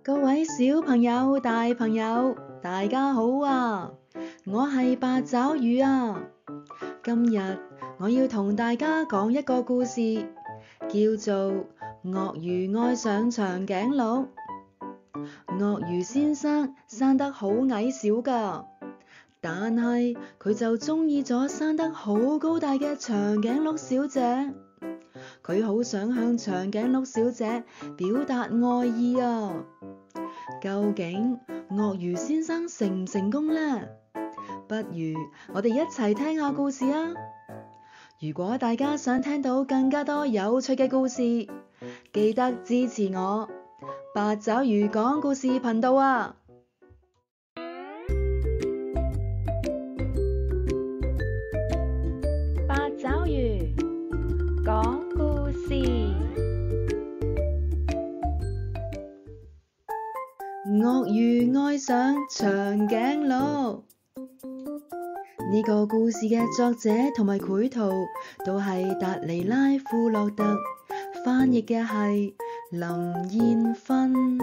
各位小朋友、大朋友，大家好啊！我係八爪魚啊！今日我要同大家講一個故事，叫做鱷魚愛上長頸鹿。鱷魚先生生得好矮小㗎，但係佢就鍾意咗生得好高大嘅長頸鹿小姐。佢好想向長頸鹿小姐表達愛意啊！究竟鱷魚先生成唔成功呢？不如我哋一齊聽下故事啊！如果大家想聽到更加多有趣嘅故事，記得支持我八爪魚講故事頻道啊！八爪魚講故事。鱷魚愛上長頸鹿。呢個故事嘅作者同埋繪圖都係達尼拉·庫洛特，翻譯嘅係林燕芬。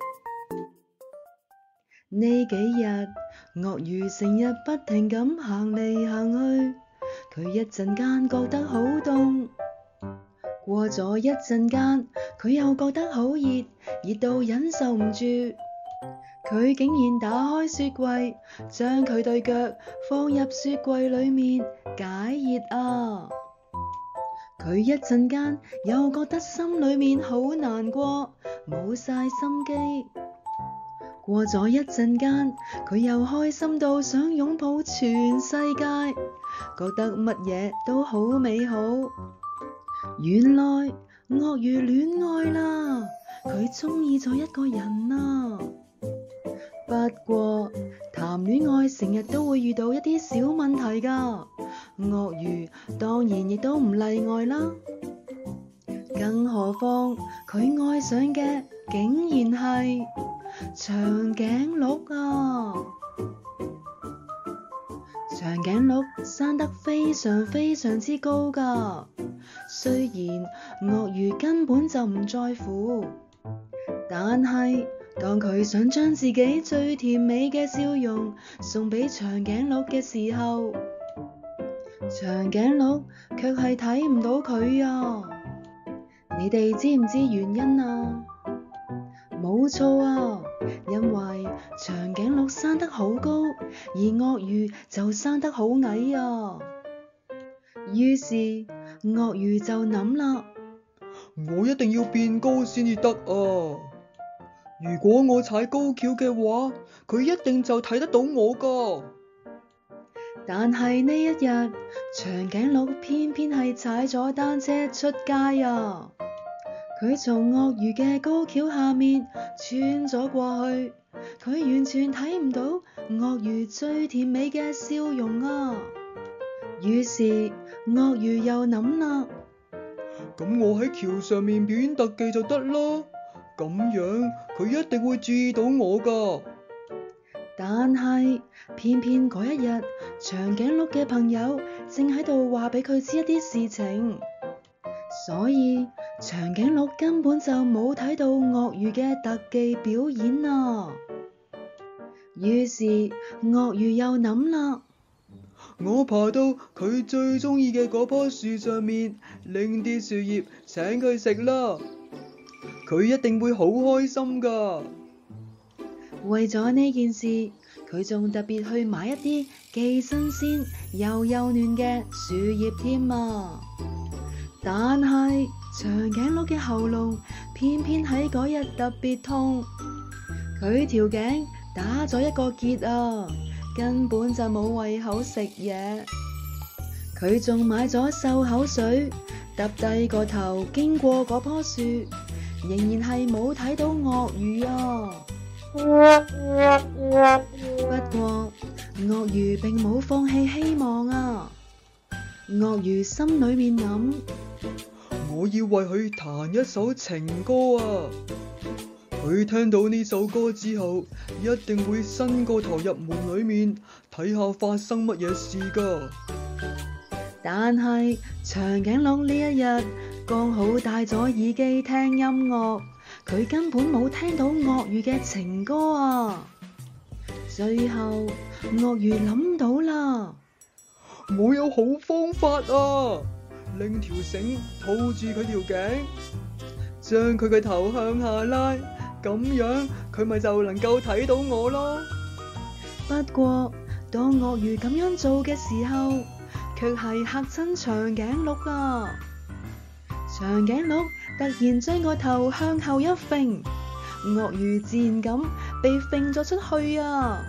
呢幾日，鱷魚成日不停咁行嚟行去，佢一陣間覺得好凍，過咗一陣間，佢又覺得好熱，熱到忍受唔住。佢竟然打開雪櫃，將佢對腳放入雪櫃裏面解熱啊！佢一陣間又覺得心裏面好難過，冇晒心機。過咗一陣間，佢又開心到想擁抱全世界，覺得乜嘢都好美好。原來鱷魚戀愛啦，佢鍾意咗一個人啊！不過談戀愛成日都會遇到一啲小問題㗎，鱷魚當然亦都唔例外啦。更何況佢愛上嘅竟然係長頸鹿啊！長頸鹿生得非常非常之高㗎，雖然鱷魚根本就唔在乎，但係當佢想將自己最甜美嘅笑容送俾長頸鹿嘅時候，長頸鹿卻係睇唔到佢啊！你哋知唔知原因啊？冇錯啊，因為長頸鹿生得好高，而鱷魚就生得好矮啊。於是鱷魚就諗啦， 我一定要變高先至得啊！如果我踩高蹺嘅話，佢一定就睇得到我㗎。 但係呢一日，長頸鹿偏偏係踩咗單車出街啊！佢從鱷魚嘅高蹺下面穿咗過去，佢完全睇唔到鱷魚最甜美嘅笑容啊！於是鱷魚又諗啦， 咁我喺橋上面表演特技就得啦。咁樣佢一定會注意到我㗎。 但係偏偏嗰一日，長頸鹿嘅朋友正喺度話俾佢知一啲事情，所以長頸鹿根本就冇睇到鱷魚嘅特技表演啊。於是鱷魚又諗啦， 我爬到佢最鍾意嘅嗰棵樹上面，拎啲樹葉請佢食啦。佢一定會好開心㗎。 為咗呢件事，佢仲特別去買一啲既新鮮又幼嫩嘅樹葉添啊！但係長頸鹿嘅喉嚨偏偏喺嗰日特別痛，佢條頸打咗一個結啊，根本就冇胃口食嘢。佢仲買咗漱口水，揼低個頭經過嗰棵樹，仍然係冇睇到鱷魚啊！不過鱷魚並冇放棄希望啊！鱷魚心裏面諗， 我要為佢彈一首情歌啊！佢聽到呢首歌之後，一定會伸個頭入門裏面睇下發生乜嘢事㗎。 但係長頸鹿呢一日剛好戴咗耳機聽音樂， 佢根本冇聽到鱷魚嘅情歌啊！最後，鱷魚諗到啦， 我有好方法啊！拎條繩套住佢條頸，將佢嘅頭向下拉，咁樣佢咪就能夠睇到我咯。 不過，當鱷魚咁樣做嘅時候，卻係嚇親長頸鹿啊！長頸鹿突然將個頭向後一揈，鱷魚自然咁被揈咗出去啊！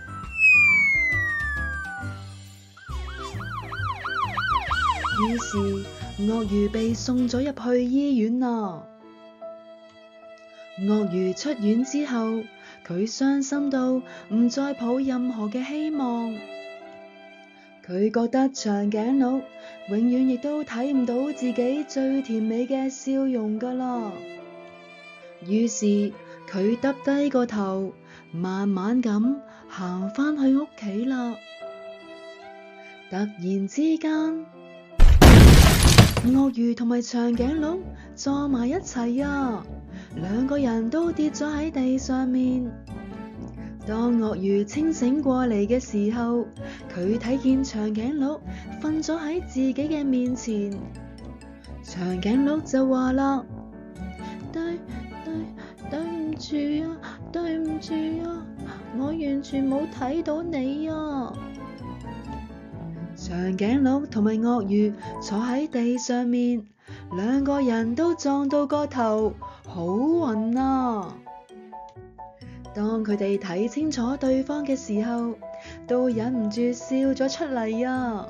於是鱷魚被送咗入去醫院啦。鱷魚出院之後，佢傷心到唔再抱任何嘅希望。佢覺得長頸鹿永遠亦都睇唔到自己最甜美嘅笑容㗎啦。於是佢耷低個頭，慢慢咁行返去屋企啦。突然之間，鱷魚同埋長頸鹿撞埋一齊啊！兩個人都跌咗喺地上面。當鱷魚清醒過嚟嘅時候，佢睇見長頸鹿瞓咗喺自己嘅面前。長頸鹿就話啦：對唔住啊，對唔住啊，我完全冇睇到你啊！長頸鹿同埋鱷魚坐喺地上面，兩個人都撞到個頭，好暈啊！當佢哋睇清楚對方嘅時候，都忍唔住笑咗出嚟啊！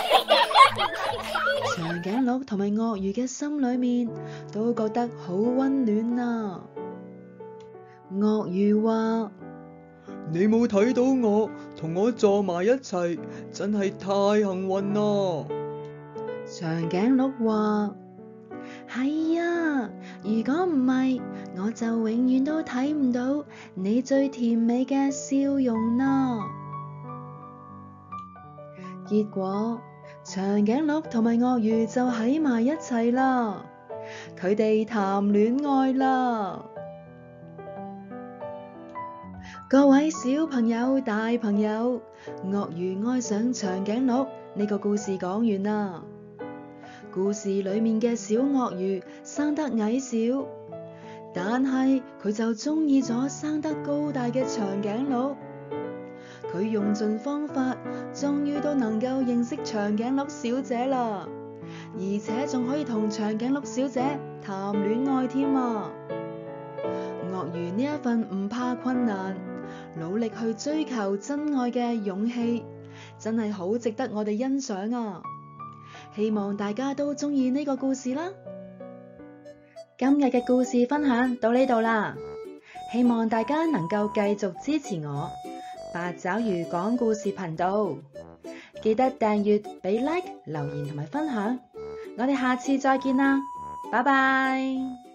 長頸鹿同埋鱷魚嘅心裏面都覺得好溫暖啊！鱷魚話： 你冇睇到我，同我坐埋一齊，真係太幸運啦！ 長頸鹿話：係啊，如果唔係，我就永遠都睇唔到你最甜美嘅笑容啦。結果，長頸鹿同埋鱷魚就喺埋一齊啦，佢哋談戀愛啦。各位小朋友、大朋友，鱷魚愛上長頸鹿呢個故事講完啦。故事裏面嘅小鱷魚生得矮小，但係佢就中意咗生得高大嘅長頸鹿。佢用盡方法，終於都能夠認識長頸鹿小姐啦，而且仲可以同長頸鹿小姐談戀愛添啊！鱷魚呢一份唔怕困難，努力去追求真愛嘅勇氣，真係好值得我哋欣賞啊！希望大家都中意呢個故事啦。今日嘅故事分享到呢度啦，希望大家能夠繼續支持我八爪魚講故事頻道，記得訂閱、俾 like、留言同埋分享。我哋下次再見啦，拜拜。